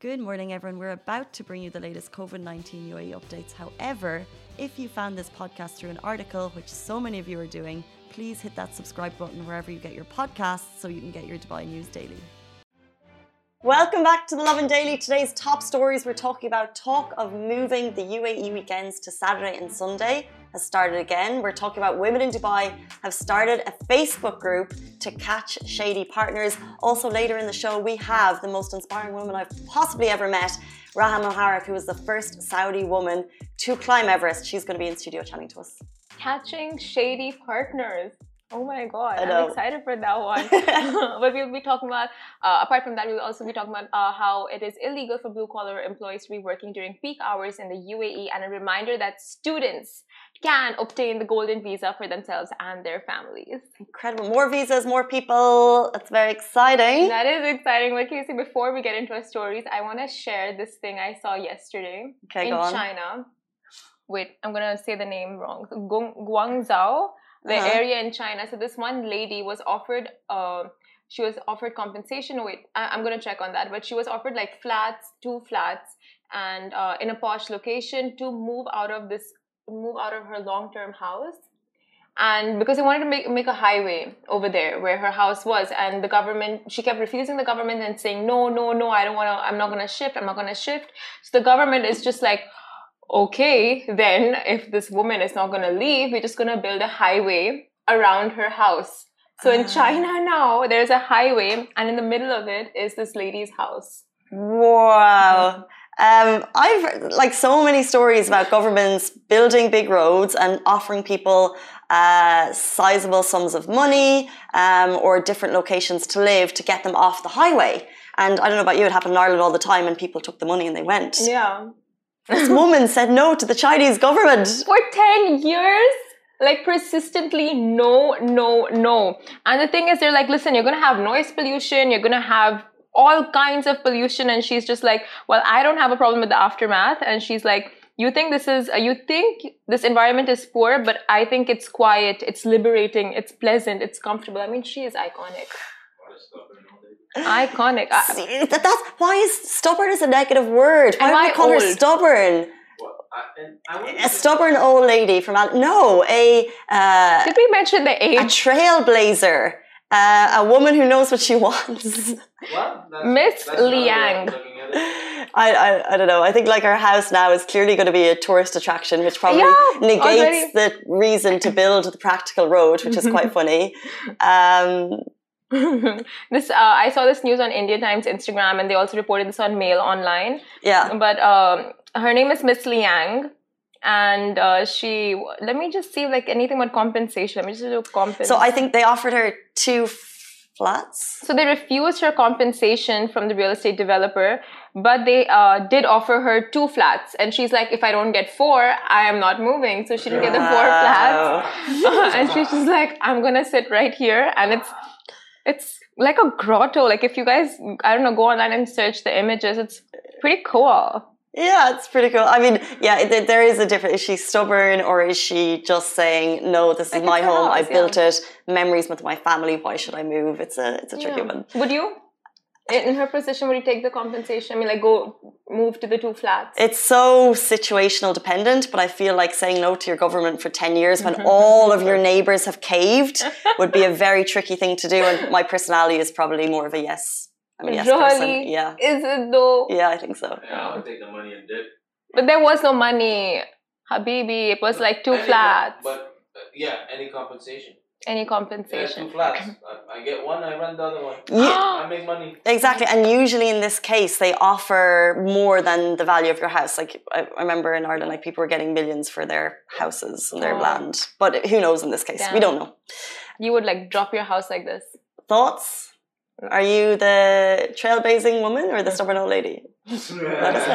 Good morning, everyone. We're about to bring you the latest COVID-19 UAE updates. However, if you found this podcast through an article, which so many of you are doing, please hit that subscribe button wherever you get your podcasts so you can get your Dubai news daily. Welcome back to the Lovin Daily. Today's top stories, we're talking about talk of moving the UAE weekends to Saturday and Sunday has started again. We're talking about women in Dubai have started a Facebook group to catch shady partners. Also later in the show, we have the most inspiring woman I've possibly ever met, Raha Moharek, who was the first Saudi woman to climb Everest. She's going to be in studio chatting to us. Catching shady partners. Oh my God, I'm excited for that one. But we'll be talking about, apart from that, we'll also be talking about how it is illegal for blue-collar employees to be working during peak hours in the UAE, and a reminder that students can obtain the golden visa for themselves and their families. Incredible. More visas, more people. That's very exciting. That is exciting. But Casey, before we get into our stories, I want to share this thing I saw yesterday in China. Wait, I'm going to say the name wrong. Guangzhou. The area in China. So this one lady was offered, she was offered compensation. Wait, I'm going to check on that. But she was offered like two flats, and in a posh location to move out of her long-term house. And because they wanted to make a highway over there where her house was, and the government, she kept refusing the government and saying, no, I don't want to, I'm not going to shift. So the government is just like, okay, then if this woman is not going to leave, we're just going to build a highway around her house. So in China now, there's a highway, and in the middle of it is this lady's house. Wow. I've heard like so many stories about governments building big roads and offering people sizable sums of money or different locations to live to get them off the highway. And I don't know about you, it happened in Ireland all the time, and people took the money and they went. Yeah. This woman said no to the Chinese government. For 10 years? Like persistently, no. And the thing is, they're like, listen, you're going to have noise pollution, you're going to have all kinds of pollution. And she's just like, well, I don't have a problem with the aftermath. And she's like, you think this environment is poor, but I think it's quiet, it's liberating, it's pleasant, it's comfortable. I mean, she is iconic. Iconic. That's why is stubborn is a negative word. Why would we call her stubborn? A stubborn old lady from did we mention the age? A trailblazer, a woman who knows what she wants. Miss Liang. I don't know. I think like her house now is clearly going to be a tourist attraction, which probably negates the reason to build the practical road, which is quite funny. I saw this news on India Times Instagram, and they also reported this on Mail Online. Yeah. But her name is Miss Liang, and let me just see like anything about compensation. Let me just do compensation. So I think they offered her 2 flats. So they refused her compensation from the real estate developer, but they did offer her 2 flats. And she's like, if I don't get 4, I am not moving. So she didn't get the 4 flats. And she's just like, I'm going to sit right here. And it's like a grotto. Like if you guys, I don't know, go online and search the images, it's pretty cool. Yeah, it's pretty cool. I mean, yeah, there is a difference. Is she stubborn, or is she just saying, no, this is my home, I built it, memories with my family, why should I move? It's a tricky one. Would you? In her position, would you take the compensation? I mean, like go move to the 2 flats? It's so situational dependent, but I feel like saying no to your government for 10 years when all of your neighbours have caved would be a very tricky thing to do. And my personality is probably more of a yes. I'm a yes person. Yeah. Is it though? Yeah, I think so. Yeah, I would take the money and dip. But there was no money, Habibi. It was like 2 flats. But any compensation. Any compensation. 2 flats. I get one, I rent the other one. I make money. Exactly. And usually in this case, they offer more than the value of your house. Like I remember in Ireland, like people were getting millions for their houses and their land. But who knows in this case? We don't know. You would like drop your house like this. Thoughts? Are you the trailblazing woman or the stubborn old lady? Let us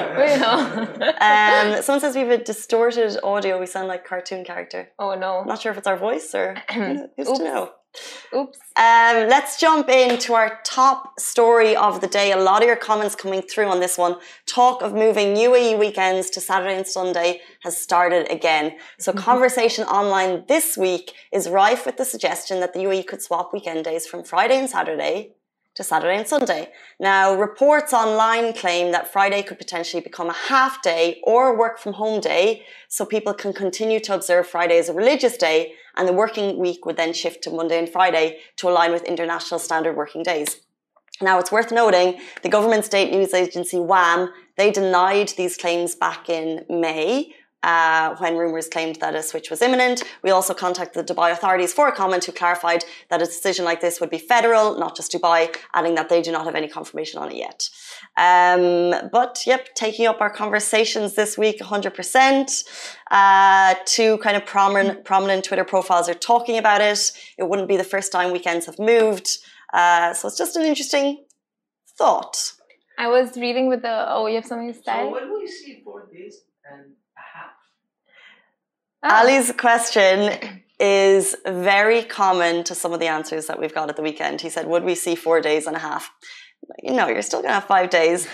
know. Someone says we have a distorted audio. We sound like a cartoon character. Oh no. I'm not sure if it's our voice or who's to know. Oops. Let's jump into our top story of the day. A lot of your comments coming through on this one. Talk of moving UAE weekends to Saturday and Sunday has started again. So conversation online this week is rife with the suggestion that the UAE could swap weekend days from Friday and Saturday to Saturday and Sunday. Now, reports online claim that Friday could potentially become a half day or work from home day, so people can continue to observe Friday as a religious day, and the working week would then shift to Monday and Friday to align with international standard working days. Now, it's worth noting the government state news agency WAM, they denied these claims back in May, when rumours claimed that a switch was imminent. We also contacted the Dubai authorities for a comment, who clarified that a decision like this would be federal, not just Dubai, adding that they do not have any confirmation on it yet. But yep, taking up our conversations this week 100%. Two kind of prominent Twitter profiles are talking about it. It wouldn't be the first time weekends have moved. So it's just an interesting thought. I was reading with the... Oh, you have something to say? So when we see 4 days and a half? Ali's question is very common to some of the answers that we've got at the weekend. He said, would we see 4 days and a half? No, you're still going to have 5 days.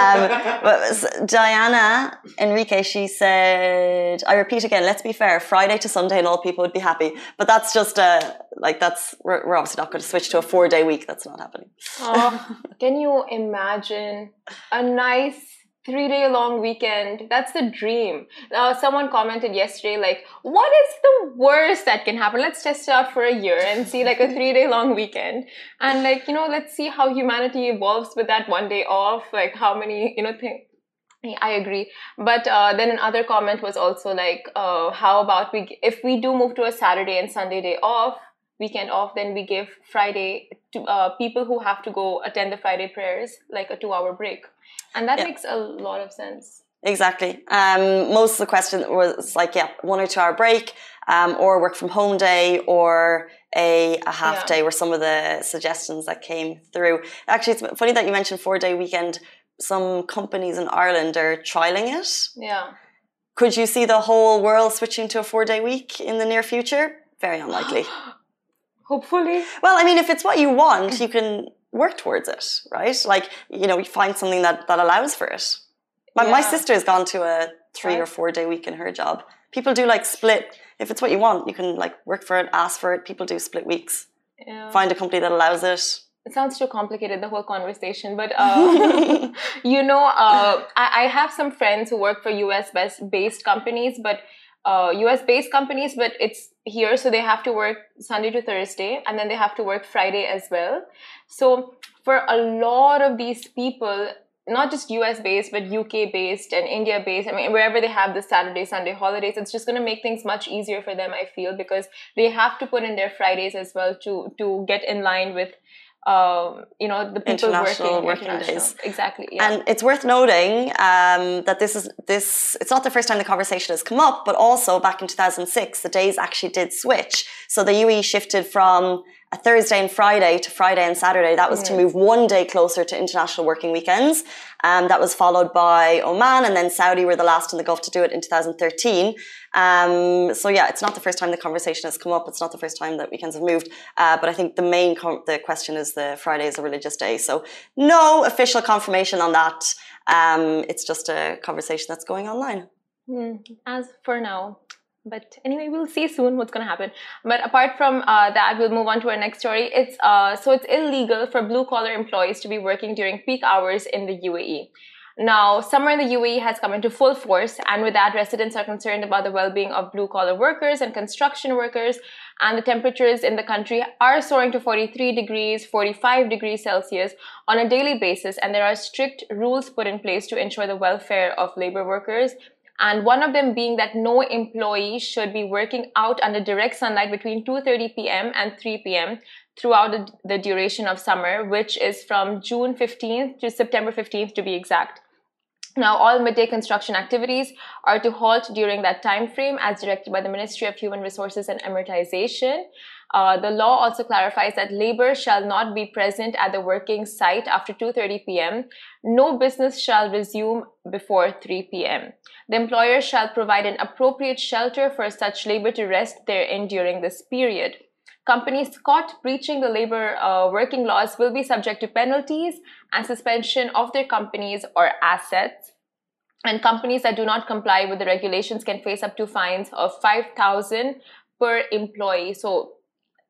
But Diana Enrique, she said, I repeat again, let's be fair, Friday to Sunday and all people would be happy. But that's just we're obviously not going to switch to a 4-day week. That's not happening. Oh, can you imagine a nice 3-day long weekend? That's the dream. Someone commented yesterday, like, what is the worst that can happen? Let's test it out for a year and see like a 3-day long weekend. And like, let's see how humanity evolves with that 1 day off. Like how many, things. I agree. But then another comment was also like, how about if we do move to a Saturday and Sunday weekend off, then we give Friday to people who have to go attend the Friday prayers, like a 2-hour break. And that makes a lot of sense. Exactly. Most of the question was like, 1 or 2 hour break, or work from home day, or a half day were some of the suggestions that came through. Actually, it's funny that you mentioned 4-day weekend. Some companies in Ireland are trialing it. Yeah. Could you see the whole world switching to a 4-day week in the near future? Very unlikely. Hopefully. Well, I mean, if it's what you want, you can work towards it, right? Like, you find something that allows for it. My sister has gone to a 3 or 4-day week in her job. People do like split. If it's what you want, you can like work for it, ask for it. People do split weeks. Yeah. Find a company that allows it. It sounds too complicated, the whole conversation. But, I have some friends who work for US-based companies, but US-based companies, but it's here, so they have to work Sunday to Thursday, and then they have to work Friday as well. So for a lot of these people, not just US-based, but UK-based and India-based, I mean, wherever they have the Saturday, Sunday holidays, it's just going to make things much easier for them, I feel, because they have to put in their Fridays as well to get in line with the people working days. Exactly. Yeah. And it's worth noting that it's not the first time the conversation has come up, but also back in 2006, the days actually did switch. So the UAE shifted from a Thursday and Friday to Friday and Saturday. That was to move 1 day closer to international working weekends. That was followed by Oman, and then Saudi were the last in the Gulf to do it in 2013. So yeah, it's not the first time the conversation has come up. It's not the first time that weekends have moved. But I think the question is the Friday is a religious day. So no official confirmation on that. It's just a conversation that's going online. As for now. But anyway, we'll see soon what's going to happen. But apart from that, we'll move on to our next story. It's illegal for blue-collar employees to be working during peak hours in the UAE. Now, summer in the UAE has come into full force, and with that, residents are concerned about the well-being of blue-collar workers and construction workers, and the temperatures in the country are soaring to 43 degrees, 45 degrees Celsius on a daily basis, and there are strict rules put in place to ensure the welfare of labor workers. And one of them being that no employee should be working out under direct sunlight between 2:30 p.m. and 3 p.m. throughout the duration of summer, which is from June 15th to September 15th to be exact. Now, all midday construction activities are to halt during that time frame as directed by the Ministry of Human Resources and Amortization. The law also clarifies that labor shall not be present at the working site after 2:30 p.m. No business shall resume before 3 p.m. The employer shall provide an appropriate shelter for such labor to rest therein during this period. Companies caught breaching the labor working laws will be subject to penalties and suspension of their companies or assets. And companies that do not comply with the regulations can face up to fines of 5,000 per employee. So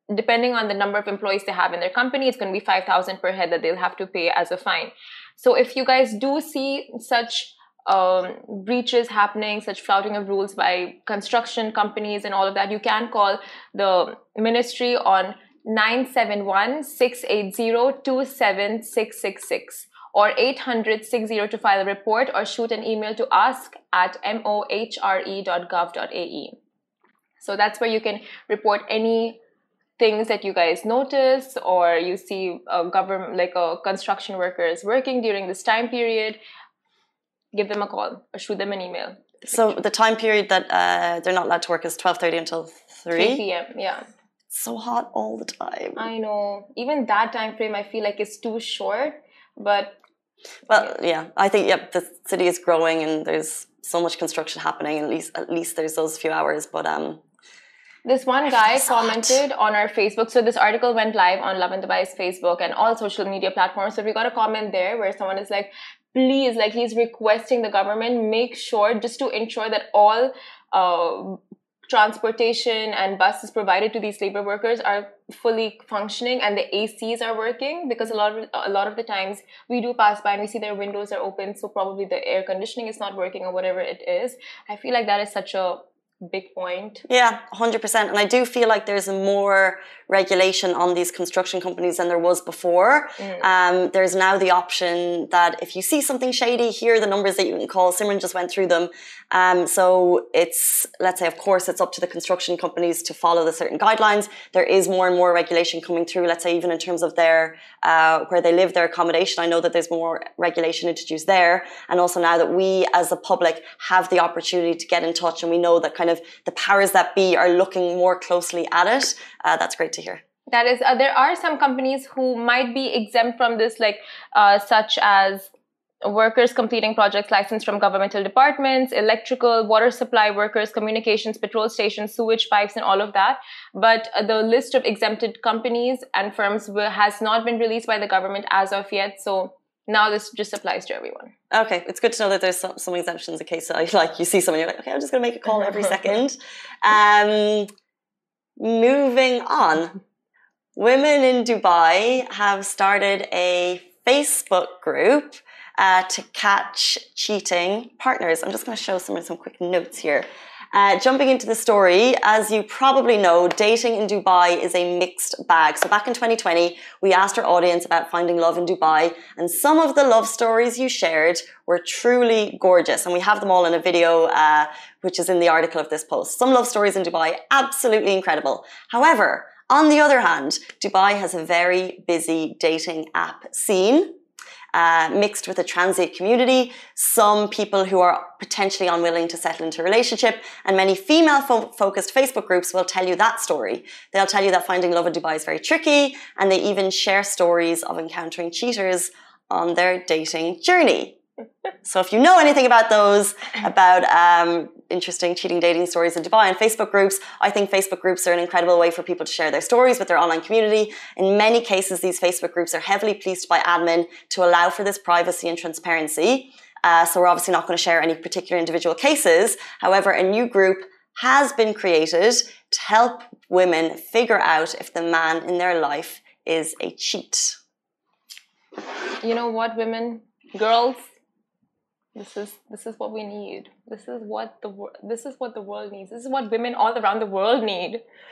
depending on the number of employees they have in their company, it's going to be 5,000 per head that they'll have to pay as a fine. So if you guys do see such breaches happening, such flouting of rules by construction companies and all of that, you can call the ministry on 971-680-27666 or 800-60 to file a report, or shoot an email to ask@mohre.gov.ae. So that's where you can report any things that you guys notice, or you see a government, like a construction workers working during this time period. Give them a call or shoot them an email. So the time period that they're not allowed to work is 12:30 until 3 p.m. Yeah. It's so hot all the time. I know. Even that time frame, I feel like it's too short. But well, yeah, I think the city is growing and there's so much construction happening. And at least there's those few hours. But this one guy commented on our Facebook. So this article went live on Lovin Dubai's Facebook and all social media platforms. So we got a comment there where someone is like, please, like he's requesting the government make sure, just to ensure that all transportation and buses provided to these labor workers are fully functioning and the ACs are working, because a lot of the times we do pass by and we see their windows are open, so probably the air conditioning is not working or whatever it is. I feel like that is such a big point. Yeah, 100%. And I do feel like there's more regulation on these construction companies than there was before. There's now the option that if you see something shady, here are the numbers that you can call. Simran just went through them. So it's, let's say, of course, it's up to the construction companies to follow the certain guidelines. There is more and more regulation coming through, let's say, even in terms of their, where they live, their accommodation. I know that there's more regulation introduced there. And also now that we as the public have the opportunity to get in touch, and we know that kind of the powers that be are looking more closely at it. That's great to hear. That is, there are some companies who might be exempt from this, like such as workers completing projects licensed from governmental departments, electrical, water supply workers, communications, petrol stations, sewage pipes, and all of that. But the list of exempted companies and firms has not been released by the government as of yet. So now this just applies to everyone. Okay, it's good to know that there's some exemptions in case you see someone, you're like, okay, I'm just going to make a call every second. Moving on, women in Dubai have started a Facebook group to catch cheating partners. I'm just going to show some quick notes here. Jumping into the story, as you probably know, dating in Dubai is a mixed bag. So back in 2020, we asked our audience about finding love in Dubai, and some of the love stories you shared were truly gorgeous. And we have them all in a video, which is in the article of this post. Some love stories in Dubai, absolutely incredible. However, on the other hand, Dubai has a very busy dating app scene. Mixed with a transient community, some people who are potentially unwilling to settle into a relationship, and many female-focused Facebook groups will tell you that story. They'll tell you that finding love in Dubai is very tricky, and they even share stories of encountering cheaters on their dating journey. So if you know anything about those, about interesting cheating dating stories in Dubai and Facebook groups, I think Facebook groups are an incredible way for people to share their stories with their online community. In many cases, these Facebook groups are heavily policed by admin to allow for this privacy and transparency. So we're obviously not going to share any particular individual cases. However, a new group has been created to help women figure out if the man in their life is a cheat. You know what, women, girls? This is what we need. This is what the world needs. This is what women all around the world need.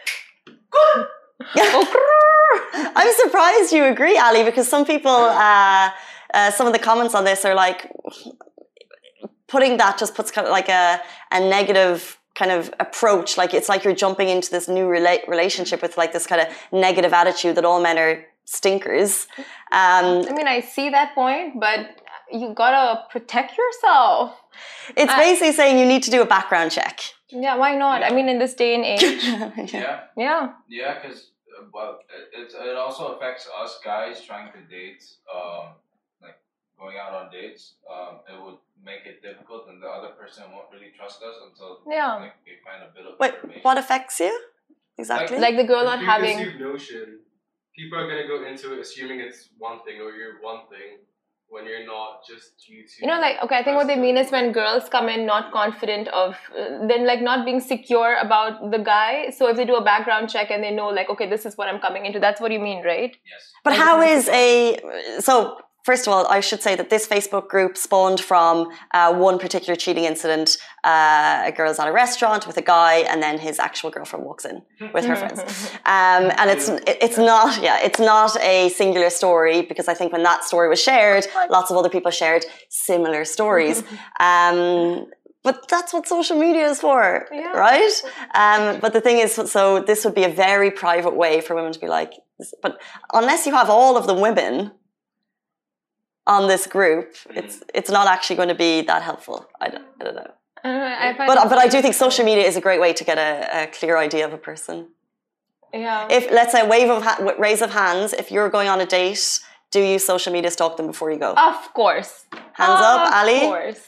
I'm surprised you agree, Ali, because some people, some of the comments on this are like, putting that just puts kind of like a negative kind of approach. Like it's like you're jumping into this new relationship with like this kind of negative attitude that all men are stinkers. I mean, I see that point, but you gotta protect yourself. It's basically saying you need to do a background check. Yeah, why not? I mean, in this day and age. Yeah, because it also affects us guys trying to date, like going out on dates. It would make it difficult, and the other person won't really trust us until like, we find a bit of information. Wait, what affects you exactly? Like the girl not having notion. People are gonna go into it assuming it's one thing or you're one thing. when you're not just YouTube. You know, like, okay, I think what they mean is when girls come in not confident of, then like not being secure about the guy. So if they do a background check and they know like, okay, this is what I'm coming into, that's what you mean, right? Yes. But how is so first of all, I should say that this Facebook group spawned from one particular cheating incident. A girl's at a restaurant with a guy, and then his actual girlfriend walks in with her friends. And it's not a singular story, because I think when that story was shared, lots of other people shared similar stories. But that's what social media is for, right? But the thing is, so this would be a very private way for women to be like, but unless you have all of the women on this group, it's not actually going to be that helpful. I don't know. But I do think social media is a great way to get a clear idea of a person. Yeah. If, let's say, raise of hands, if you're going on a date, do you social media stalk them before you go? Of course. Hands up, Ali? Of course.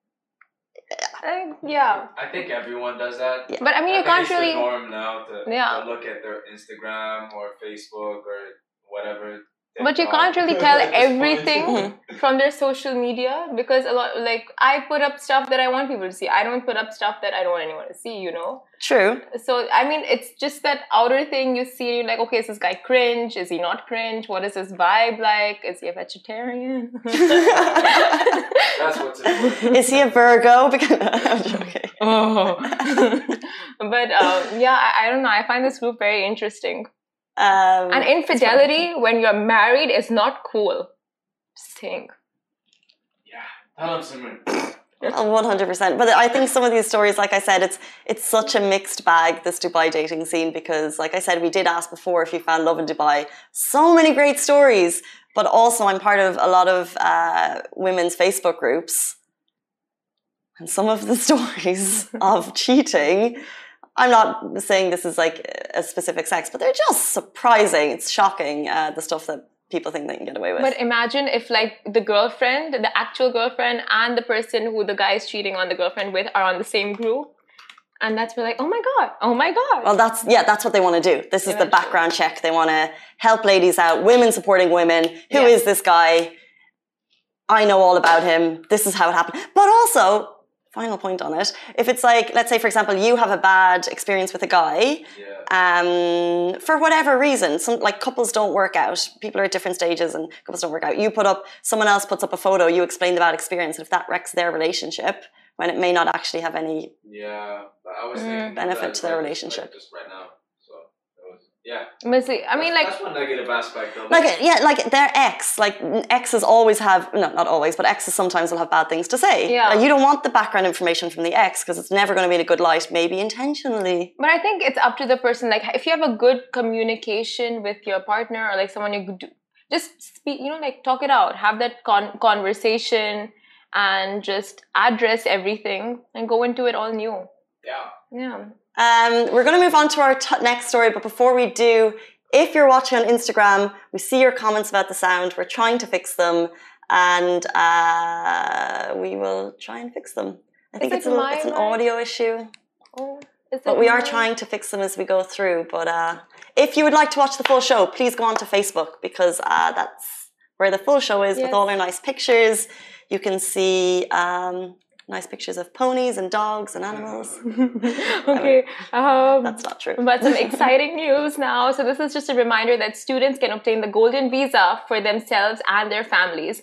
Yeah. I think everyone does that. Yeah. But I mean, you can't really. It's the norm now to look at their Instagram or Facebook or whatever. But you can't really tell everything from their social media, because a lot, like, I put up stuff that I want people to see. I don't put up stuff that I don't want anyone to see, you know? True. So, I mean, it's just that outer thing you see, you're like, okay, is this guy cringe? Is he not cringe? What is his vibe like? Is he a vegetarian? That's what's important. Is he a Virgo? I'm joking. Oh. But, yeah, I don't know. I find this group very interesting. And infidelity when you're married is not cool. Just think. Yeah, tell him Simran. 100%. But I think some of these stories, like I said, it's such a mixed bag, this Dubai dating scene, because, like I said, we did ask before if you found love in Dubai. So many great stories. But also, I'm part of a lot of women's Facebook groups, and some of the stories of cheating. I'm not saying this is like a specific sex, but they're just surprising. It's shocking, the stuff that people think they can get away with. But imagine if like the girlfriend, the actual girlfriend, and the person who the guy is cheating on the girlfriend with are on the same group. And that's like, oh my God, oh my God. Well, that's what they want to do. This is the background check. They want to help ladies out, women supporting women. Who is this guy? I know all about him. This is how it happened. But also, final point on it, if it's like, let's say, for example, you have a bad experience with a guy, for whatever reason, some like couples don't work out. People are at different stages and couples don't work out. You put up, someone else puts up a photo, you explain the bad experience, and if that wrecks their relationship, when it may not actually have any I was benefit to their relationship. Like just right now. Mostly, I mean, that's one negative aspect of it. Like their ex, like exes always have, no, not always, but exes sometimes will have bad things to say. Yeah. Like, you don't want the background information from the ex because it's never going to be in a good light, maybe intentionally. But I think it's up to the person. Like, if you have a good communication with your partner or like someone you could just speak, you know, like talk it out, have that conversation and just address everything and go into it all new. Yeah. We're going to move on to our next story, but before we do, if you're watching on Instagram, we see your comments about the sound. We're trying to fix them, and we will try and fix them. I think it's an audio issue, but we are trying to fix them as we go through. But if you would like to watch the full show, please go on to Facebook, because that's where the full show is, with all our nice pictures. You can see nice pictures of ponies and dogs and animals. Okay. That's not true. But some exciting news now. So this is just a reminder that students can obtain the golden visa for themselves and their families.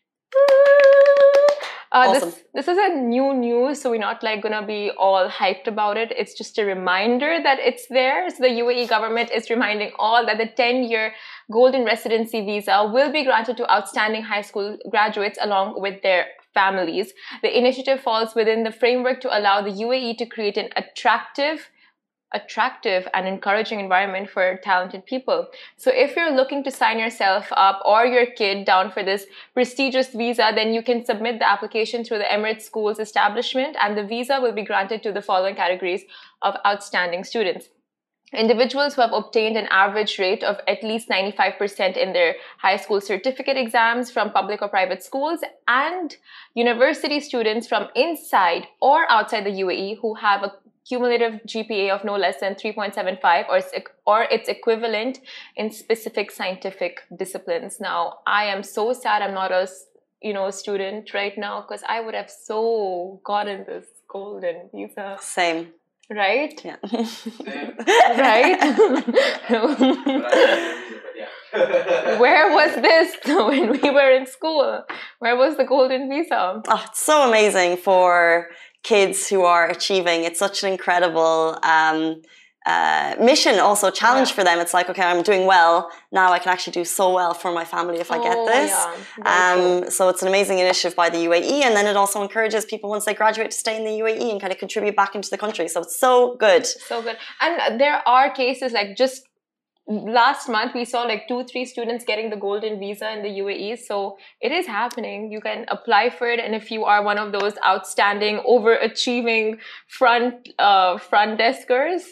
Awesome. This is a new news, so we're not like gonna be all hyped about it. It's just a reminder that it's there. So the UAE government is reminding all that the 10-year golden residency visa will be granted to outstanding high school graduates along with their families. The initiative falls within the framework to allow the UAE to create an attractive and encouraging environment for talented people. So if you're looking to sign yourself up or your kid down for this prestigious visa, then you can submit the application through the Emirates Schools establishment, and the visa will be granted to the following categories of outstanding students. Individuals who have obtained an average rate of at least 95% in their high school certificate exams from public or private schools, and university students from inside or outside the UAE who have a cumulative GPA of no less than 3.75 or its equivalent in specific scientific disciplines. Now, I am so sad I'm not a student right now, because I would have so gotten this golden visa. Same. Right? Yeah. Right? Where was this when we were in school? Where was the golden visa? Oh, it's so amazing for kids who are achieving. It's such an incredible mission, also challenge for them. It's like, okay, I'm doing well now. I can actually do so well for my family if I get this. So it's an amazing initiative by the UAE, and then it also encourages people once they graduate to stay in the UAE and kind of contribute back into the country. So it's so good. So good. And there are cases like just last month we saw like 2-3 students getting the golden visa in the UAE. So it is happening. You can apply for it, and if you are one of those outstanding, overachieving front deskers.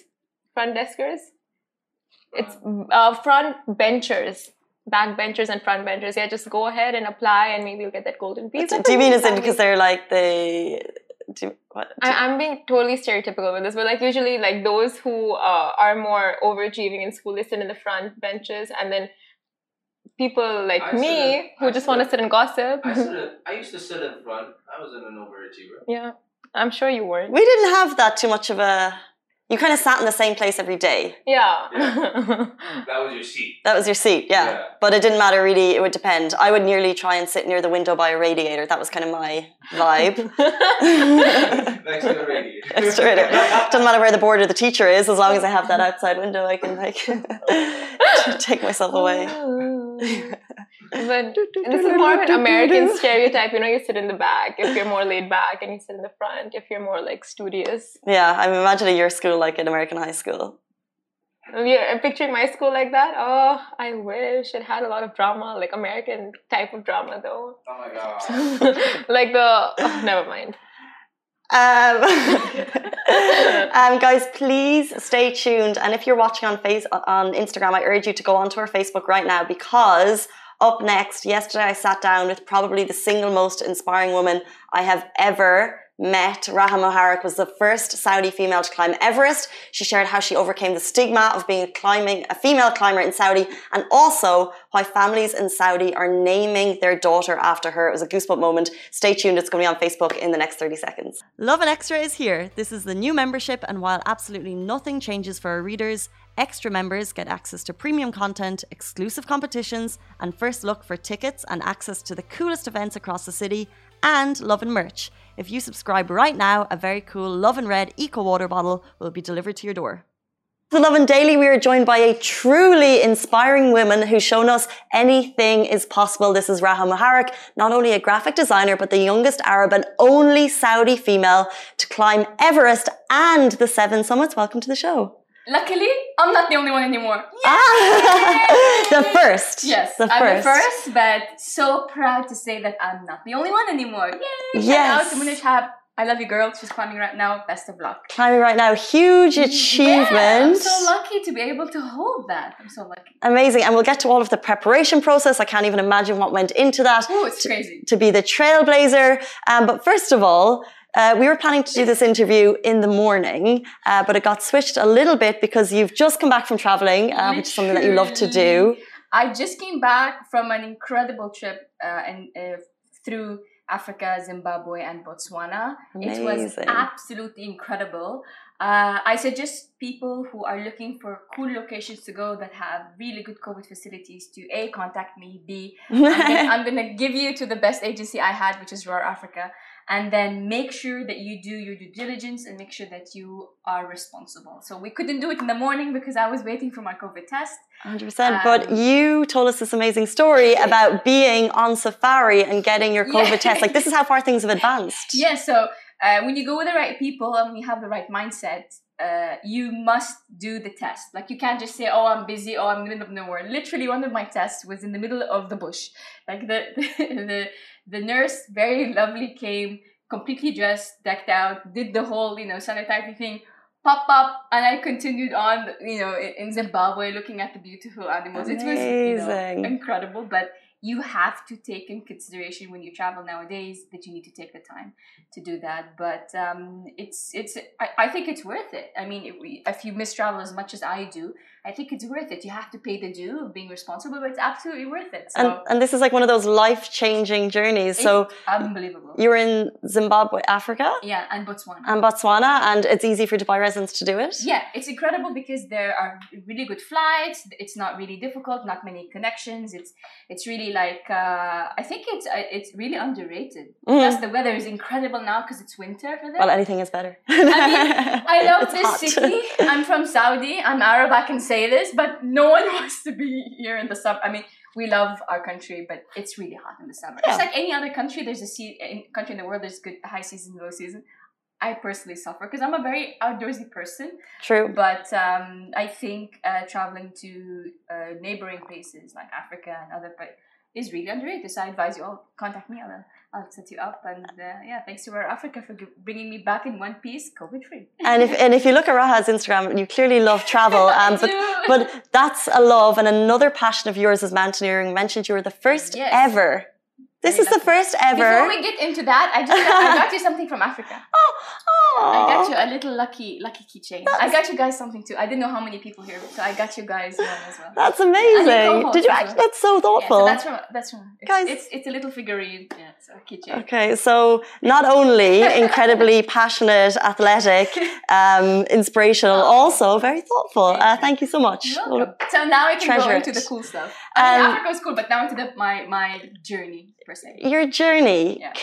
It's front benchers, back benchers and front benchers. Yeah, just go ahead and apply, and maybe you'll get that golden visa. Do you mean is it because they're like I'm being totally stereotypical with this, but like usually like those who are more overachieving in school, they sit in the front benches, and then people like who just want to sit and gossip. I used to sit in front. I wasn't an overachiever. Yeah, I'm sure you weren't. We didn't have that too much of a... You kind of sat in the same place every day. Yeah. That was your seat. That was your seat, yeah. But it didn't matter really. It would depend. I would nearly try and sit near the window by a radiator. That was kind of my vibe. Next to the radiator. Next to the radiator. Doesn't matter where the board or the teacher is. As long as I have that outside window, I can like take myself away. But this is more of an American stereotype. You sit in the back if you're more laid back, and you sit in the front if you're more like studious. Yeah, I'm imagining your school like an American high school. Yeah, I'm picturing my school like that. Oh, I wish it had a lot of drama, like American type of drama though. Oh my god. Like never mind. Guys, please stay tuned. And if you're watching on Instagram, I urge you to go onto our Facebook right now, because up next, yesterday I sat down with probably the single most inspiring woman I have ever met. Raha Muharraq was the first Saudi female to climb Everest. She shared how she overcame the stigma of being a female climber in Saudi, and also why families in Saudi are naming their daughter after her. It was a goosebump moment. Stay tuned. It's going to be on Facebook in the next 30 seconds. Lovin Extra is here. This is the new membership, and while absolutely nothing changes for our readers, extra members get access to premium content, exclusive competitions, and first look for tickets and access to the coolest events across the city, and Lovin merch. If you subscribe right now, a very cool Lovin Red Eco Water bottle will be delivered to your door. The Lovin Daily, we are joined by a truly inspiring woman who's shown us anything is possible. This is Raha Muharraq, not only a graphic designer, but the youngest Arab and only Saudi female to climb Everest and the 7 summits. Welcome to the show. Luckily, I'm not the only one anymore. The first. Yes, I'm the first, but so proud to say that I'm not the only one anymore. Yay! Yes. Shout out to Munish Hab. I love you, girl. She's climbing right now. Best of luck. Climbing right now. Huge achievement. Yeah, I'm so lucky to be able to hold that. I'm so lucky. Amazing. And we'll get to all of the preparation process. I can't even imagine what went into that. Oh, it's crazy. To be the trailblazer. But first of all, we were planning to do this interview in the morning, but it got switched a little bit because you've just come back from traveling, which is something that you love to do. I just came back from an incredible trip through Africa, Zimbabwe, and Botswana. Amazing. It was absolutely incredible. I suggest people who are looking for cool locations to go that have really good COVID facilities to A, contact me, B, I'm gonna give you to the best agency I had, which is Roar Africa. And then make sure that you do your due diligence and make sure that you are responsible. So we couldn't do it in the morning because I was waiting for my COVID test. 100%. But you told us this amazing story about being on safari and getting your COVID test. Like, this is how far things have advanced. Yeah, so when you go with the right people and you have the right mindset, you must do the test. Like, you can't just say, oh, I'm busy, oh, I'm in the middle of nowhere. Literally, one of my tests was in the middle of the bush. Like, the nurse, very lovely, came completely dressed, decked out, did the whole, sanitizing thing, pop up, and I continued on, in Zimbabwe, looking at the beautiful animals. Amazing. It was, incredible. But you have to take in consideration when you travel nowadays that you need to take the time to do that. But I think it's worth it. I mean, if you miss travel as much as I do, I think it's worth it. You have to pay the due of being responsible, but it's absolutely worth it. So, and this is like one of those life-changing journeys. So unbelievable. You're in Zimbabwe, Africa? Yeah, and Botswana. And it's easy for Dubai residents to do it? Yeah, it's incredible because there are really good flights. It's not really difficult, not many connections. It's really like, I think it's really underrated. Plus the weather is incredible now because it's winter for them. Well, anything is better. I mean, I love this city. I'm from Saudi. I'm Arab, I can say this, but no one wants to be here in the summer. I mean, we love our country, but it's really hot in the summer. Yeah. It's like any other country. There's country in the world, there's good high season, low season. I personally suffer because I'm a very outdoorsy person. True. But I think traveling to neighboring places like Africa and other places is really underrated. So I advise you all, contact me. I'll set you up. And thanks to Rare Africa for bringing me back in one piece, COVID-free. And if you look at Raha's Instagram, you clearly love travel. But that's a love and another passion of yours is mountaineering. You mentioned you were the first ever. This is the first ever. Before we get into that, I got you something from Africa. I got you a little lucky keychain. I got you guys something too. I didn't know how many people here, so I got you guys one as well. That's amazing. Did you actually? That's so thoughtful. Yeah, so that's from. Guys, it's a little figurine. Yeah, it's a keychain. Okay, so not only incredibly passionate, athletic, inspirational, also very thoughtful. Thank you so much. You're welcome. So now I can go into the cool stuff. I mean, Africa was cool, but now into my journey. Your journey. Yeah.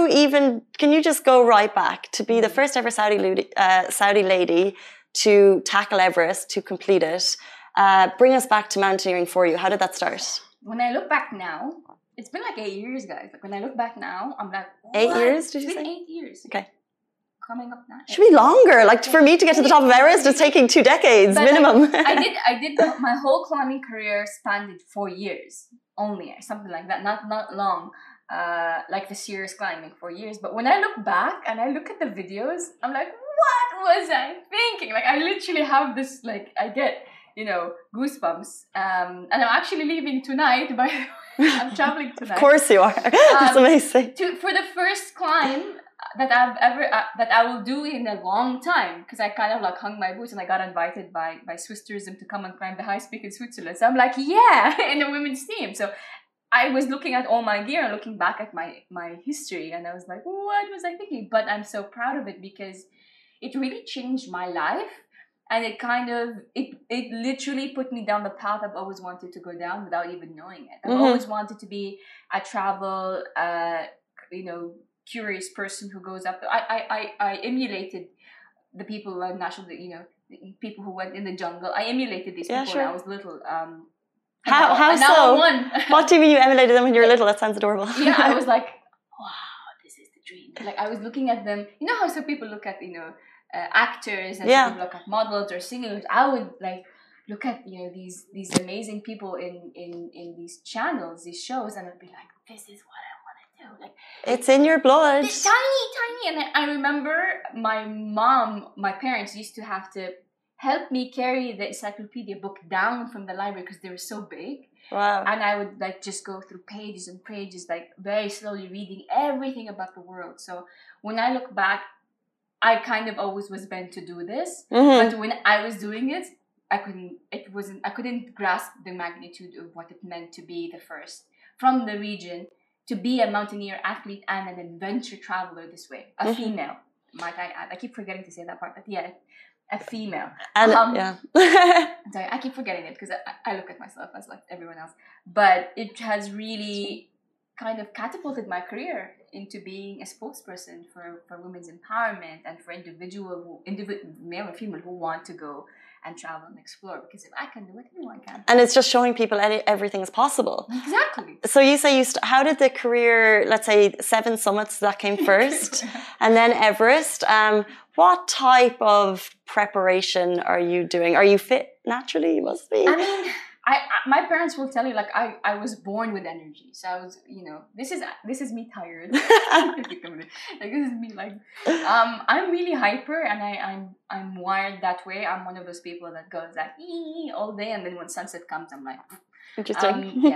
Can you just go right back to be the first ever Saudi lady to tackle Everest, to complete it? Bring us back to mountaineering for you. How did that start? When I look back now, it's been like 8 years, guys. Like when I look back now, I'm like, what? 8 years? Did you say? 8 years. Okay. Coming up now. Should be longer. Like for me to get to the top of Everest, it's taking 2 decades minimum. I did my whole climbing career spanned 4 years. Only something like that, not long, like the serious climbing 4 years. But when I look back and I look at the videos, I'm like, what was I thinking? Like I literally have this, like I get, goosebumps. And I'm actually leaving tonight. I'm traveling tonight. Of course you are. That's amazing. For the first climb that I've ever that I will do in a long time, because I kind of like hung my boots and I got invited by Swiss Tourism to come and climb the high peak in Switzerland. So I'm like, yeah, in the women's team. So I was looking at all my gear and looking back at my history, and I was like, what was I thinking? But I'm so proud of it because it really changed my life, and it kind of it literally put me down the path I've always wanted to go down without even knowing it. I've always wanted to be a travel curious person who goes up. I emulated the people people who went in the jungle. I emulated these people when I was little. How so? What do you mean you emulated them when you were little? That sounds adorable. Yeah, I was like, wow, this is the dream. Like I was looking at them. You know how some people look at actors and some people look at models or singers. I would like look at these amazing people in these channels, these shows, and I'd be like, this is what I want to do. Like it's in your blood. It's tiny. And I remember my parents used to have to help me carry the encyclopedia book down from the library because they were so big. Wow. And I would like just go through pages and pages, like very slowly reading everything about the world. So when I look back, I kind of always was meant to do this. But when I was doing it, I couldn't grasp the magnitude of what it meant to be the first from the region to be a mountaineer athlete and an adventure traveler this way. A female, might I add. I keep forgetting to say that part, but yeah. A female. And sorry, I keep forgetting it because I look at myself as like everyone else. But it has really kind of catapulted my career into being a spokesperson for women's empowerment and for individual male or female who want to go and travel and explore. Because if I can do it, anyone can. And it's just showing people everything is possible. Exactly. So you say how did the career, let's say 7 summits that came first, and then Everest. What type of preparation are you doing? Are you fit naturally? You must be. I mean, my parents will tell you like I was born with energy. So I was, this is me tired. Like this is me like I'm really hyper and I'm wired that way. I'm one of those people that goes like all day, and then when sunset comes I'm like interesting. Yeah.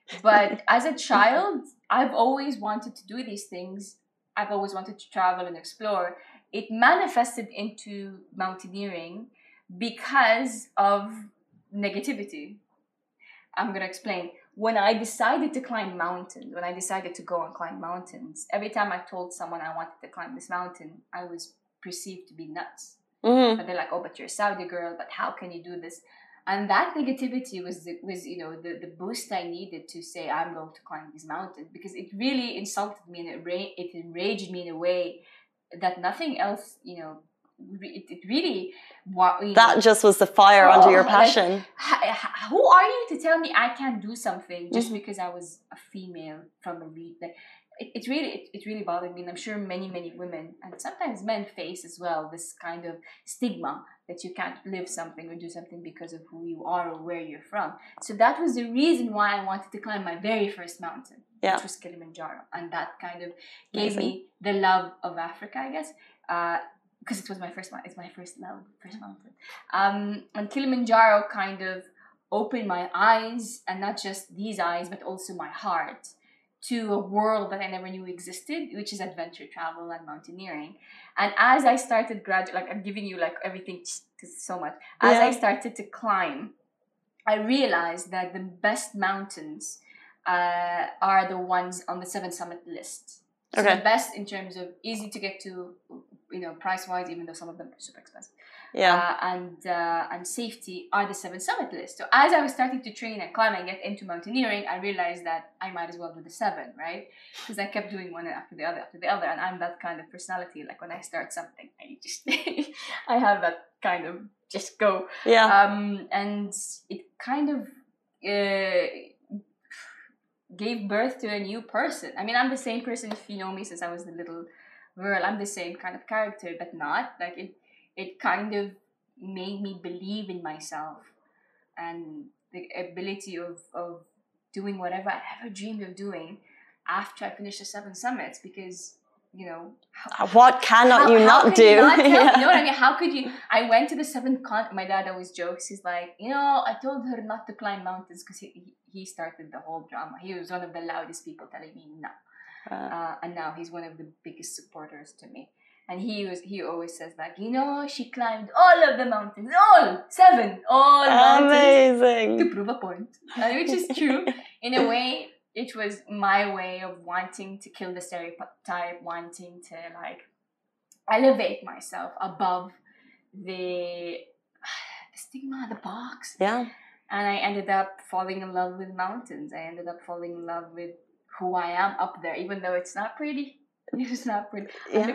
But as a child, I've always wanted to do these things. I've always wanted to travel and explore. It manifested into mountaineering because of negativity. I'm going to explain. When I decided to climb mountains, when I decided to go and climb mountains, every time I told someone I wanted to climb this mountain, I was perceived to be nuts. But they're like, oh, but you're a Saudi girl, but how can you do this? And that negativity was the boost I needed to say, I'm going to climb these mountains, because it really insulted me and it enraged me in a way that nothing else, it really... That just was the fire under your passion. Like, who are you to tell me I can't do something just because I was a female from a region? It really bothered me, and I'm sure many women and sometimes men face as well this kind of stigma that you can't live something or do something because of who you are or where you're from. So that was the reason why I wanted to climb my very first mountain, which was Kilimanjaro, and that kind of gave me the love of Africa, I guess, because it was my first mountain. It's my first mountain. And Kilimanjaro kind of opened my eyes, and not just these eyes, but also my heart, to a world that I never knew existed, which is adventure travel and mountaineering. And as I started I'm giving you everything so much. As I started to climb, I realized that the best mountains are the ones on the 7 summit list. So the best in terms of easy to get to, price-wise, even though some of them are super expensive. And safety are the 7 summit list. So as I was starting to train and climb and get into mountaineering, I realized that I might as well do the 7, right? Because I kept doing one after the other, and I'm that kind of personality. Like when I start something, I just I have that kind of just go. And it kind of gave birth to a new person. I mean, I'm the same person, if you know me, since I was the little girl. I'm the same kind of character, but not like it kind of made me believe in myself and the ability of doing whatever I ever dreamed of doing after I finished the 7 summits, because what cannot you not do? You know what I mean? How could you? I went to the 7th continent. My dad always jokes. He's like, I told her not to climb mountains because he started the whole drama. He was one of the loudest people telling me no. And now he's one of the biggest supporters to me. And he always says she climbed all of the mountains, all 7, all mountains. Amazing. To prove a point, which is true. In a way, it was my way of wanting to kill the stereotype, wanting to elevate myself above the stigma, the box. Yeah. And I ended up falling in love with mountains. I ended up falling in love with who I am up there, even though it's not pretty. It's not pretty.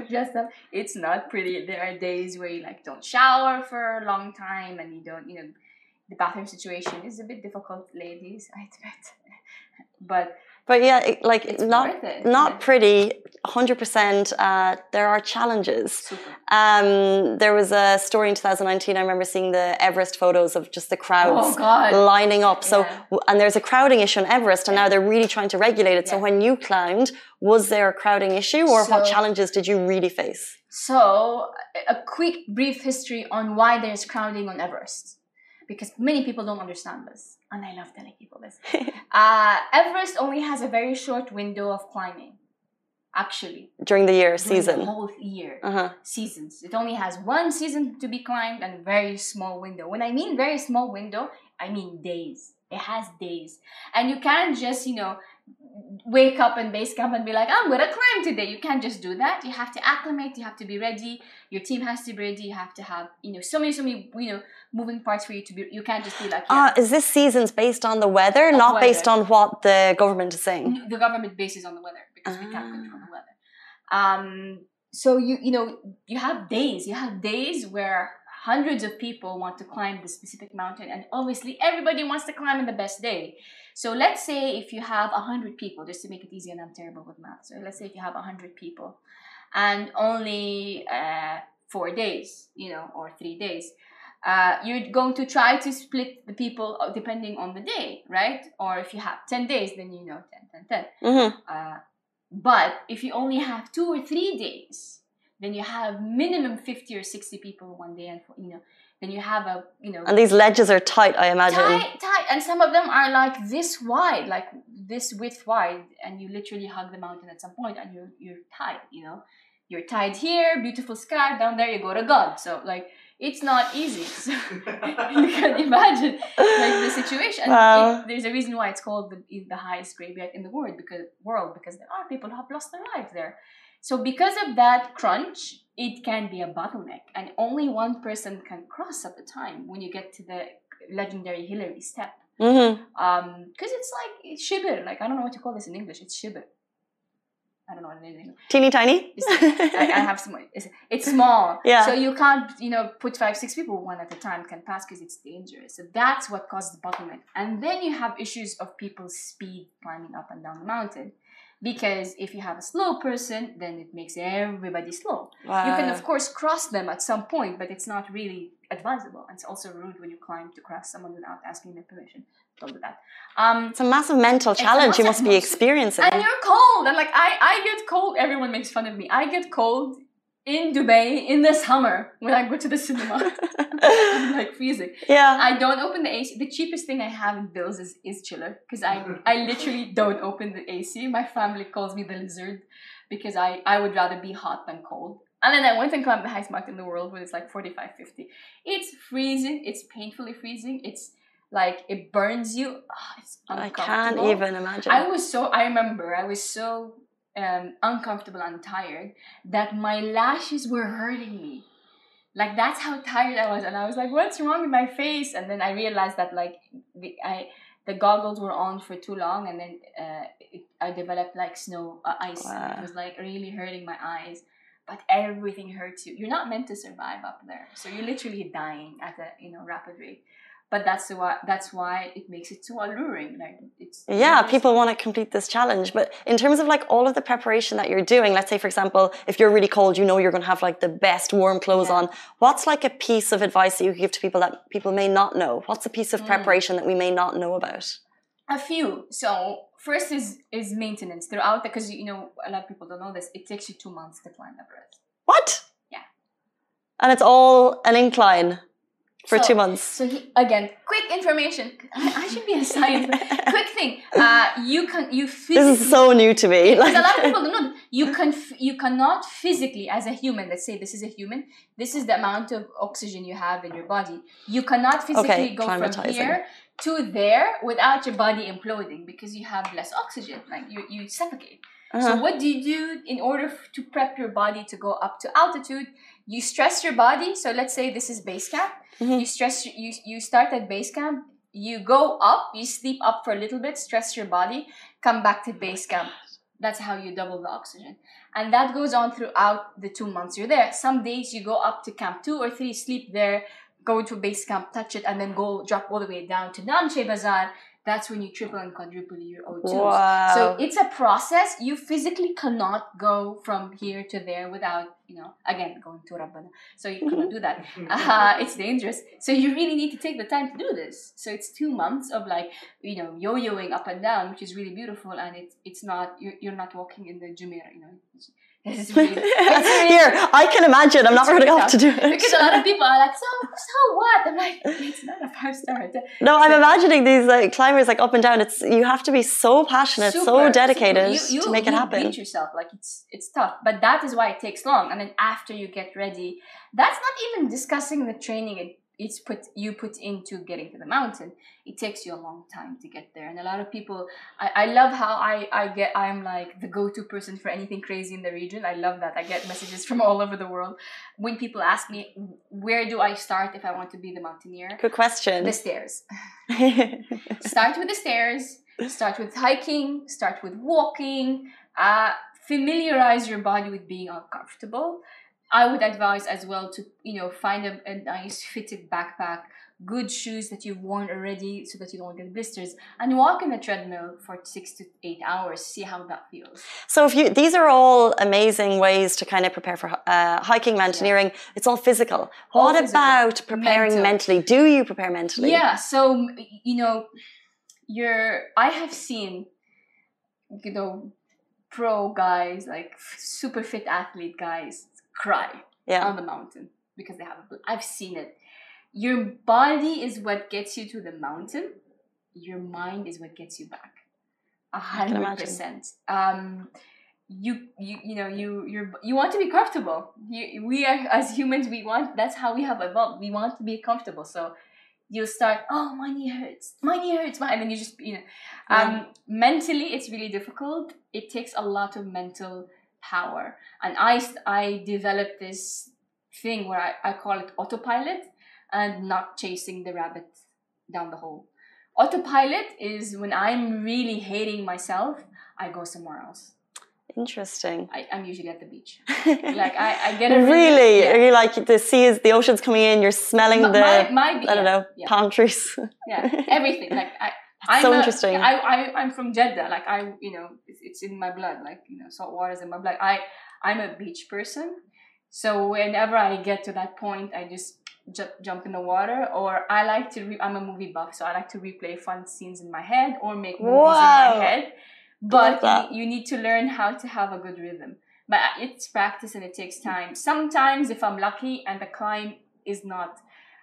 It's not pretty. There are days where you don't shower for a long time, and you don't, the bathroom situation is a bit difficult, ladies, I admit. But yeah, not pretty, 100%. There are challenges. Super. There was a story in 2019. I remember seeing the Everest photos of just the crowds lining up. So, and there's a crowding issue on Everest, and now they're really trying to regulate it. So when you climbed, was there a crowding issue, or what challenges did you really face? So, a quick, brief history on why there's crowding on Everest, because many people don't understand this. And I love telling people this. Everest only has a very short window of climbing, actually. During the year, season. The whole year, seasons. It only has 1 season to be climbed and a very small window. When I mean very small window, I mean days. It has days. And you can't just, wake up in base camp and be like, I'm going to climb today. You can't just do that. You have to acclimate. You have to be ready. Your team has to be ready. You have to have, so many, moving parts for you to be, you can't just be like, is this seasons based on the weather, not based on what the government is saying? The government bases on the weather, because we can't control the weather. So you have days. You have days where hundreds of people want to climb the specific mountain, and obviously everybody wants to climb on the best day. So let's say if you have 100 people, just to make it easy, and I'm terrible with math. So let's say if you have 100 people and only 4 days, or 3 days, you're going to try to split the people depending on the day, right? Or if you have 10 days, then 10, 10, 10. But if you only have 2 or 3 days, then you have minimum 50 or 60 people one day, and Then you have a, And these ledges are tight, I imagine. Tight. And some of them are like this wide, like this width wide. And you literally hug the mountain at some point and you're tied, You're tied here, beautiful sky. Down there you go to God. So like, it's not easy. So you can imagine like the situation. Wow. There's a reason why it's called the highest graveyard in the world because there are people who have lost their lives there. So because of that crunch, it can be a bottleneck, and only one person can cross at a time when you get to the legendary Hillary step. Because it's like shibir. Like, I don't know what to call this in English. It's shibir. I don't know what it is in English. Teeny tiny? I have some. It's small. Yeah. So you can't, put 5-6 people one at a time can pass because it's dangerous. So that's what causes the bottleneck. And then you have issues of people's speed climbing up and down the mountain. Because if you have a slow person, then it makes everybody slow. Wow. You can, of course, cross them at some point, but it's not really advisable. And it's also rude when you climb to cross someone without asking their permission. Don't do that. It's a massive mental challenge you must be experiencing. And you're cold. And like, I get cold. Everyone makes fun of me. I get cold in Dubai in the summer when I go to the cinema. I'm like freezing. Yeah. I don't open the AC. The cheapest thing I have in bills is chiller, because I literally don't open the AC. My family calls me the lizard because I would rather be hot than cold. And then I went and climbed the highest mountain in the world when it's like 45, 50. It's freezing. It's painfully freezing. It's like it burns you. Oh, it's uncomfortable. I can't even imagine. I remember I was so uncomfortable and tired that my lashes were hurting me. Like, that's how tired I was. And I was like, what's wrong with my face? And then I realized that like the goggles were on for too long, and then I developed like ice. Wow. And it was like really hurting my eyes. But everything hurts you. You're not meant to survive up there. So you're literally dying at a rapid rate. But that's why it makes it so alluring. Like, people want to complete this challenge. But in terms of like all of the preparation that you're doing, let's say for example, if you're really cold, you're going to have like the best warm clothes on. What's like a piece of advice that you give to people that people may not know? What's a piece of preparation that we may not know about? A few. So first is maintenance throughout, because a lot of people don't know this. It takes you 2 months to climb Everest. What? Yeah. And it's all an incline. For 2 months. So again, quick information. I should be a science. Quick thing. You physically. This is so new to me. Because a lot of people don't know. You cannot physically, as a human. Let's say this is a human. This is the amount of oxygen you have in your body. You cannot physically go from here to there without your body imploding, because you have less oxygen. Like you suffocate. So what do you do in order to prep your body to go up to altitude? You stress your body. So let's say this is base camp. You start at base camp. You go up. You sleep up for a little bit. Stress your body. Come back to base camp. That's how you double the oxygen. And that goes on throughout the 2 months you're there. Some days you go up to camp 2 or 3, sleep there, go to base camp, touch it, and then go drop all the way down to Namche Bazaar. That's when you triple and quadruple your O2s. Wow. So it's a process. You physically cannot go from here to there without, again, going to Rabbana. So you cannot do that. It's dangerous. So you really need to take the time to do this. So it's 2 months of like, yo-yoing up and down, which is really beautiful. And it's not, you're not walking in the Jumeirah, It's really, Here, I can imagine. I'm not really off to do it. Because a lot of people are like, so what? I'm like, it's not a 5-star. No, I'm imagining these climbers like up and down. You have to be so passionate, so dedicated to make it happen. You beat yourself. Like, it's tough. But that is why it takes long. And then after you get ready, that's not even discussing the training you put into getting to the mountain. It takes you a long time to get there. And a lot of people, I love how I'm like the go-to person for anything crazy in the region. I love that. I get messages from all over the world. When people ask me, where do I start if I want to be the mountaineer? Good question. The stairs. Start with the stairs. Start with hiking. Start with walking. Familiarize your body with being uncomfortable. I would advise as well to, find a nice fitted backpack, good shoes that you've worn already so that you don't get blisters, and walk in a treadmill for 6 to 8 hours. See how that feels. So these are all amazing ways to kind of prepare for hiking, mountaineering. Yeah. It's all physical. What about preparing mentally? Do you prepare mentally? Yeah. So, I have seen, pro guys, like super fit athlete guys, cry on the mountain because they have I've seen it. your body is what gets you to the mountain. Your mind is what gets you back. 100%. You want to be comfortable. We are, as humans, that's how we have evolved. We want to be comfortable. So you'll start, oh, my knee hurts, and then you just, mentally it's really difficult. It takes a lot of mental power. And I developed this thing where I call it autopilot and not chasing the rabbit down the hole. Autopilot is when I'm really hating myself, I go somewhere else. Interesting. I'm usually at the beach. Like I get a really. Are you like the ocean's coming in? You're smelling palm trees. Yeah, everything. Like interesting. I'm from Jeddah. Like it's in my blood. Like salt water is in my blood. I'm a beach person. So whenever I get to that point, I just jump in the water, or I like to. I'm a movie buff, so I like to replay fun scenes in my head or make movies in my head. But you need to learn how to have a good rhythm. But it's practice and it takes time. Sometimes if I'm lucky and the climb is not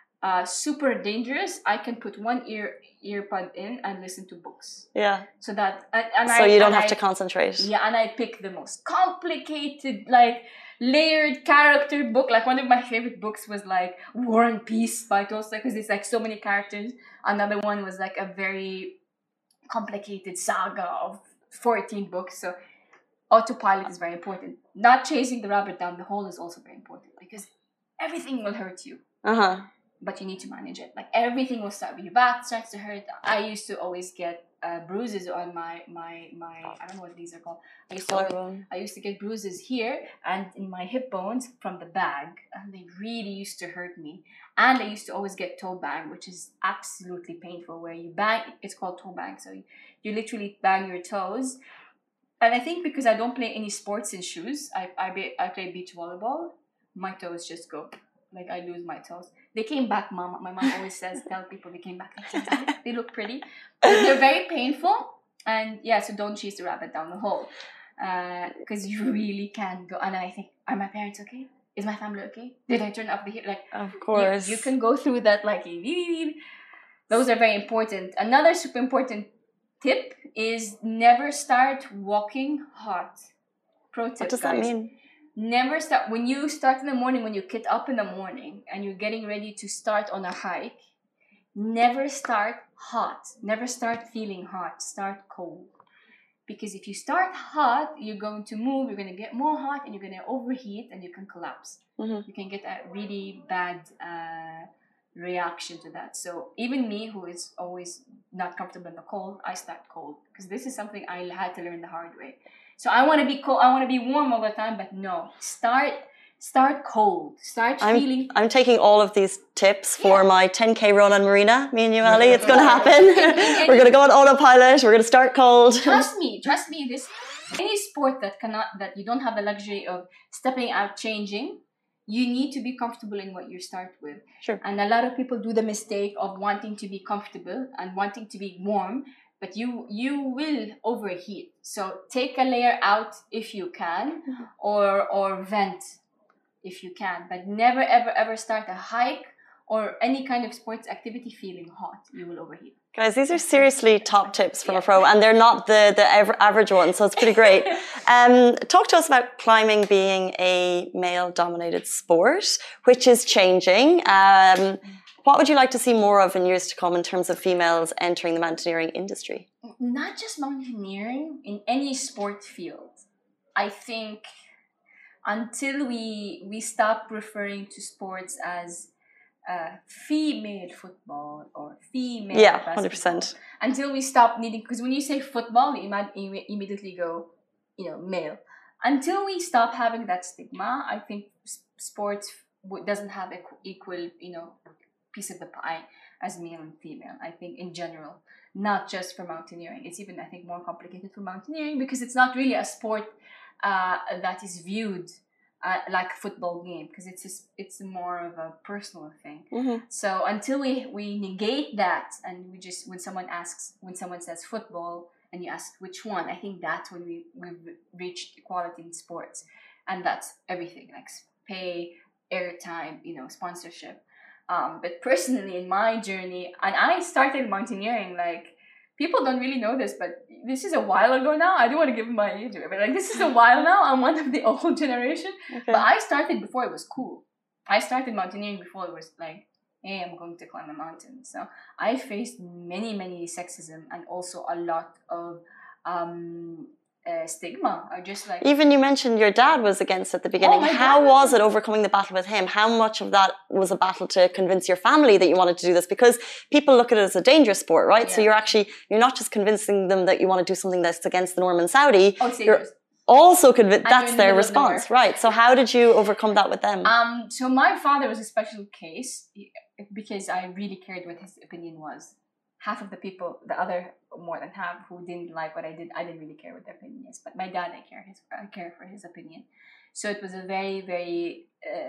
super dangerous, I can put one earpod in and listen to books. Yeah. So that you don't have to concentrate. Yeah, and I pick the most complicated, like layered character book. Like one of my favorite books was like War and Peace by Tolstoy, because it's like so many characters. Another one was like a very complicated saga of 14 books. So autopilot is very important. Not chasing the rabbit down the hole is also very important, because everything will hurt you. But you need to manage it. Like everything will start with your back starts to hurt. I used to always get bruises on my I don't know what these are called. I used to get bruises here and in my hip bones from the bag, and they really used to hurt me. And I used to always get toe bang, which is absolutely painful, where you bang. It's called toe bang. So you literally bang your toes. And I think because I don't play any sports in shoes, I play beach volleyball. My toes just go. Like I lose my toes. They came back, Mom. My mom always tell people they came back. They look pretty. But they're very painful. And so don't chase the rabbit down the hole. Because you really can go. And I think, are my parents okay? Is my family okay? Did I turn off the heat? Like, of course. You can go through that like, those are very important. Another super important tip is never start walking hot. Pro tip, what does that mean? Never start. When you start in the morning, when you get up in the morning and you're getting ready to start on a hike, never start hot. Never start feeling hot. Start cold. Because if you start hot, you're going to move, you're going to get more hot, and you're going to overheat, and you can collapse. You can get a really bad reaction to that. So even me, who is always not comfortable in the cold, I start cold. Because this is something I had to learn the hard way. So I want to be cold. I want to be warm all the time, but no. Start cold. Feeling. I'm taking all of these tips for my 10K run on Marina. Me and you, Ali. It's going to happen. We're going to go on autopilot. We're going to start cold. Trust me. This any sport that you don't have the luxury of stepping out, changing. You need to be comfortable in what you start with. Sure. And a lot of people do the mistake of wanting to be comfortable and wanting to be warm. But you will overheat. So take a layer out if you can, or vent if you can. But never, ever, ever start a hike or any kind of sports activity feeling hot. You will overheat. Guys, these are seriously top tips from a pro, and they're not the average ones, so it's pretty great. Talk to us about climbing being a male-dominated sport, which is changing. What would you like to see more of in years to come in terms of females entering the mountaineering industry? Not just mountaineering, in any sport field. I think until we stop referring to sports as female football or female basketball. 100%. Until we stop needing, because when you say football, you immediately go, male. Until we stop having that stigma, I think sports doesn't have equal, piece of the pie as male and female. I think in general, not just for mountaineering. It's even, I think, more complicated for mountaineering because it's not really a sport that is viewed like a football game, because it's more of a personal thing. So until we negate that, and we just, when someone says football and you ask which one, I think that's when we've reached equality in sports. And that's everything, like pay, airtime, sponsorship. But personally, in my journey, and I started mountaineering, like, people don't really know this, but this is a while ago now. I don't want to give my age away, but like, this is a while now. I'm one of the old generation. Okay. But I started before it was cool. I started mountaineering before it was like, hey, I'm going to climb a mountain. So I faced many, many sexism and also a lot of stigma. Or just like, even you mentioned your dad was against at the beginning. How was it overcoming the battle with him? How much of that was a battle to convince your family that you wanted to do this? Because people look at it as a dangerous sport, right? Yeah. So you're not just convincing them that you want to do something that's against the norm in Saudi. Oh, it's dangerous. Also convinced, that's their response, right? So how did you overcome that with them? So my father was a special case because I really cared what his opinion was. Half of the people, the other more than half, who didn't like what I did, I didn't really care what their opinion is. But my dad, I care for his opinion. So it was a very, very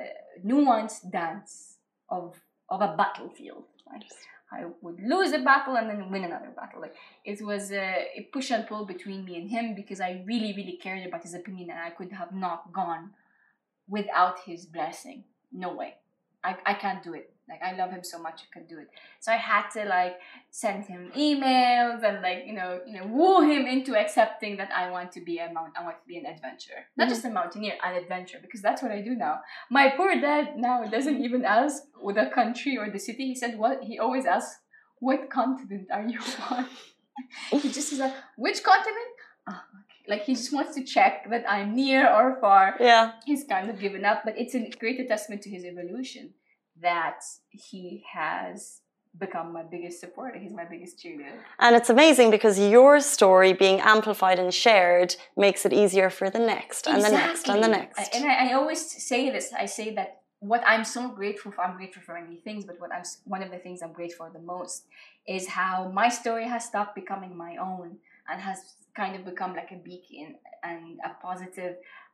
nuanced dance of a battlefield. Right? I would lose a battle and then win another battle. Like, it was a push and pull between me and him because I really, really cared about his opinion, and I could have not gone without his blessing. No way. I can't do it. Like, I love him so much, I could do it. So I had to like send him emails and like, you know, woo him into accepting that I want to be an adventurer. Not just a mountaineer, an adventurer, because that's what I do now. My poor dad now doesn't even ask the country or the city. He said, what? He always asks, what continent are you on? He just is like, which continent? Oh, okay. Like, he just wants to check that I'm near or far. Yeah. He's kind of given up, but it's a great testament to his evolution that he has become my biggest supporter. He's my biggest cheerleader. And it's amazing because your story being amplified and shared makes it easier for the next and the next and the next. And I always say this. I say that what I'm so grateful for, I'm grateful for many things, but one of the things I'm grateful for the most is how my story has stopped becoming my own and has kind of become like a beacon and a positive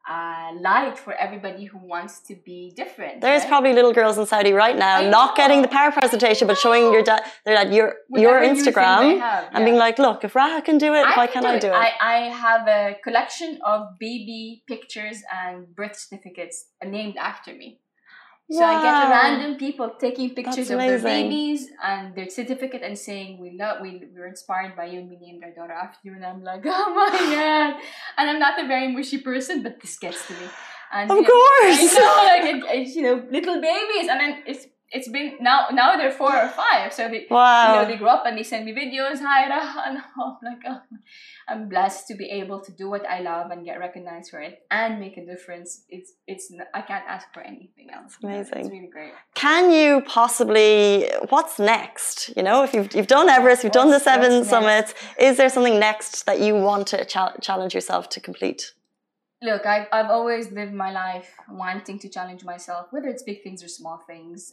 light for everybody who wants to be different. There's probably little girls in Saudi right now not getting the power presentation, but showing your dad your Instagram and being like, look, if Raha can do it, why can't I do it? I have a collection of baby pictures and birth certificates named after me. So I get random people taking pictures of their babies and their certificate and saying, we're inspired by you and we named our daughter after you. And I'm like, oh my God. And I'm not a very mushy person, but this gets to me. And, of course. I know, like, little babies. And then it's been, now they're 4 or 5. So they, they grow up and they send me videos. Hi, Raha. And I'm like, oh, I'm blessed to be able to do what I love and get recognized for it and make a difference. I can't ask for anything else. Amazing. It's really great. Can you possibly, what's next? You know, if you've done Everest, you've done the 7 summits, is there something next that you want to challenge yourself to complete? Look, I've always lived my life wanting to challenge myself, whether it's big things or small things.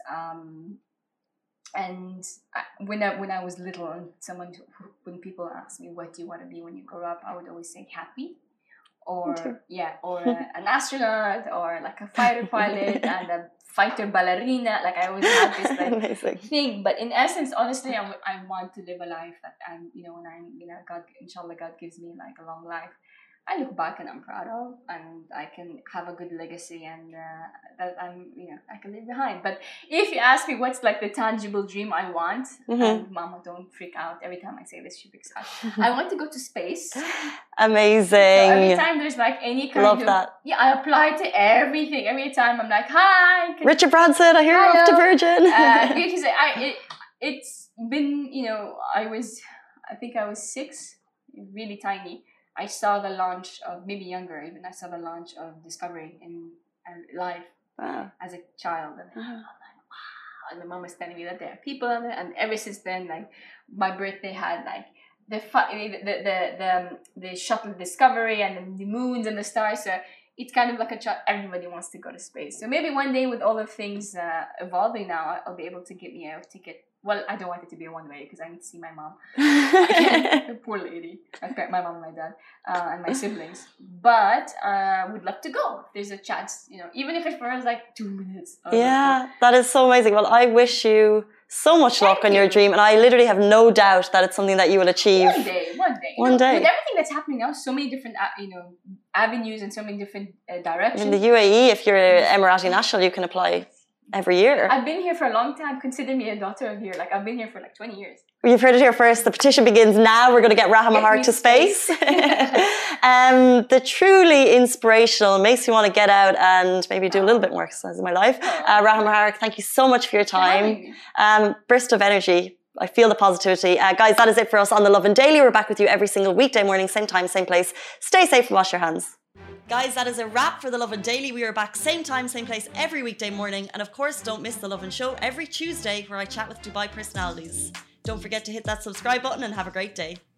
And when I was little, and when people ask me, what do you want to be when you grow up, I would always say happy, or an astronaut, or like a fighter pilot and a fighter ballerina. Like, I always had this like thing. But in essence, honestly, I want to live a life that when inshallah, God gives me like a long life, I look back and I'm proud of, and I can have a good legacy, and that I can leave behind. But if you ask me what's like the tangible dream I want, and Mama, don't freak out every time I say this, she freaks out. I want to go to space. Amazing. So every time there's like any kind of that. Yeah, I apply to everything. Every time I'm like, hi. Richard Branson, I hear you're off to Virgin. Because it's been, I think I was 6, really tiny. I saw the launch of, maybe younger even, I saw the launch of Discovery in live as a child. And I'm like, wow. And my mom was telling me that there are people on there. And ever since then, like, my birthday had like the shuttle Discovery and then the moons and the stars. So it's kind of like everybody wants to go to space. So maybe one day, with all of things evolving now, I'll be able to get me a ticket. Well, I don't want it to be a one-way because I need to see my mom. Poor lady. My mom and my dad and my siblings. But would love to go if there's a chance, even if it was like 2 minutes. Yeah, that is so amazing. Well, I wish you so much luck on your dream, and I literally have no doubt that it's something that you will achieve. One day. With everything that's happening now, so many different, avenues and so many different directions. In the UAE, if you're an Emirati national, you can apply Every year. I've been here for a long time. Consider me a daughter of here. Like, I've been here for like 20 years. You've heard it here first. The petition begins now. We're going to get Raha Maharik to space. The truly inspirational, makes me want to get out and maybe do a little bit more exercise in my life. Raha Maharik, thank you so much for your time. Burst of energy. I feel the positivity. Guys, that is it for us on The Lovin Daily. We're back with you every single weekday morning, same time, same place. Stay safe and wash your hands. Guys, that is a wrap for The Lovin Daily. We are back same time, same place every weekday morning. And of course, don't miss The Lovin Show every Tuesday where I chat with Dubai personalities. Don't forget to hit that subscribe button and have a great day.